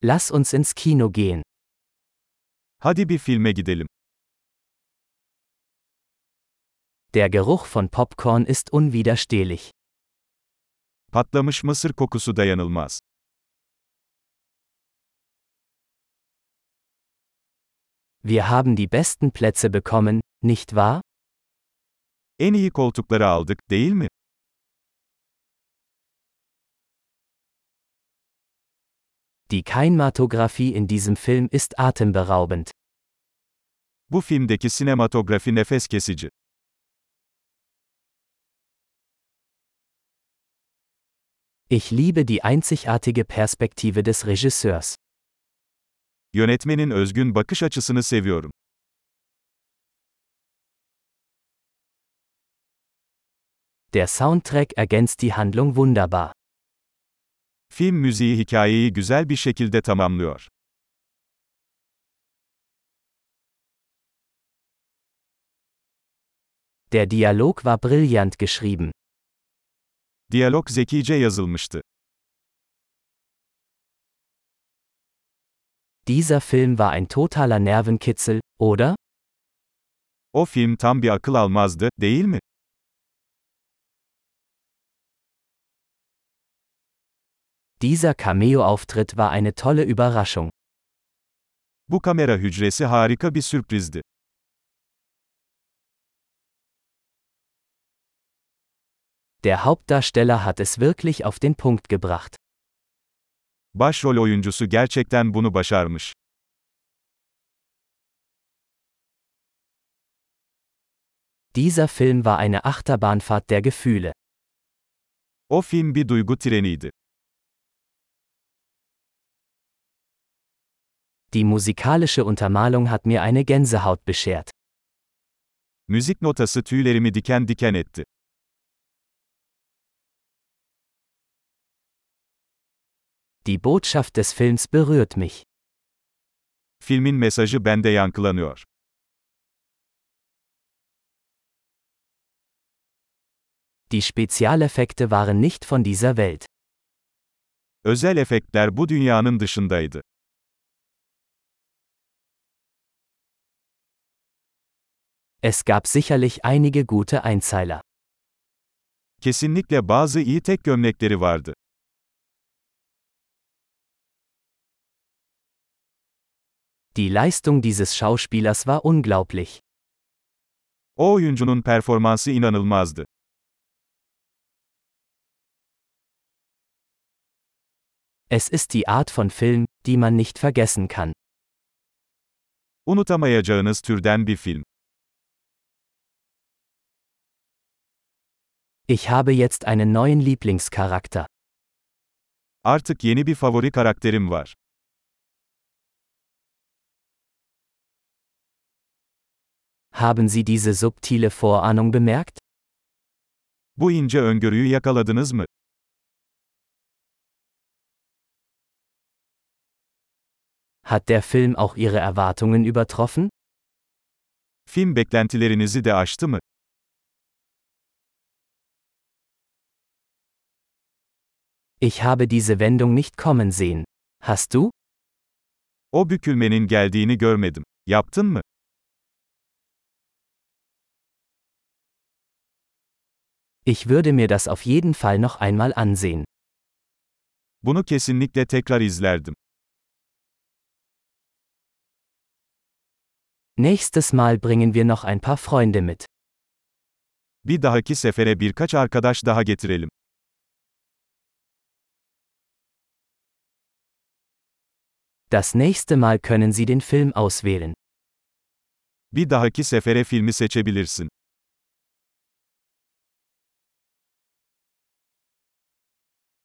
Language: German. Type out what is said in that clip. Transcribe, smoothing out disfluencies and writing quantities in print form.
Lass uns ins Kino gehen. Hadi bir filme gidelim. Der Geruch von Popcorn ist unwiderstehlich. Patlamış mısır kokusu dayanılmaz. Wir haben die besten Plätze bekommen, nicht wahr? En iyi koltukları aldık, değil mi? Die Kinematographie in diesem Film ist atemberaubend. Bu filmdeki sinematografi nefes kesici. Ich liebe die einzigartige Perspektive des Regisseurs. Yönetmenin özgün bakış açısını seviyorum. Der Soundtrack ergänzt die Handlung wunderbar. Film müziği hikayeyi güzel bir şekilde tamamlıyor. Der Dialog war brillant geschrieben. Diyalog zekice yazılmıştı. Dieser Film war ein totaler Nervenkitzel, oder? O film tam bir akıl almazdı, değil mi? Dieser Cameo-Auftritt war eine tolle Überraschung. Bu kamera hücresi harika bir sürprizdi. Der Hauptdarsteller hat es wirklich auf den Punkt gebracht. Başrol oyuncusu gerçekten bunu başarmış. Dieser Film war eine Achterbahnfahrt der Gefühle. O film bir duygu treniydi. Die musikalische Untermalung hat mir eine Gänsehaut beschert. Müzik notası tüylerimi diken diken etti. Die Botschaft des Films berührt mich. Filmin mesajı bende yankılanıyor. Die Spezialeffekte waren nicht von dieser Welt. Özel efektler bu dünyanın dışındaydı. Es gab sicherlich einige gute Einzeiler. Kesinlikle bazı iyi tek gömlekleri vardı. Die Leistung dieses Schauspielers war unglaublich. O oyuncunun performansı inanılmazdı. Es ist die Art von Film, die man nicht vergessen kann. Unutamayacağınız türden bir film. Ich habe jetzt einen neuen Lieblingscharakter. Artık yeni bir favori karakterim var. Haben Sie diese subtile Vorahnung bemerkt? Bu ince öngörüyü yakaladınız mı? Hat der Film auch Ihre Erwartungen übertroffen? Film beklentilerinizi de aştı mı? Ich habe diese Wendung nicht kommen sehen. Hast du? O bükülmenin geldiğini görmedim. Yaptın mı? Ich würde mir das auf jeden Fall noch einmal ansehen. Bunu kesinlikle tekrar izlerdim. Nächstes Mal bringen wir noch ein paar Freunde mit. Bir dahaki sefere birkaç arkadaş daha getirelim. Das nächste Mal können Sie den Film auswählen. Bir dahaki sefere filmi seçebilirsin.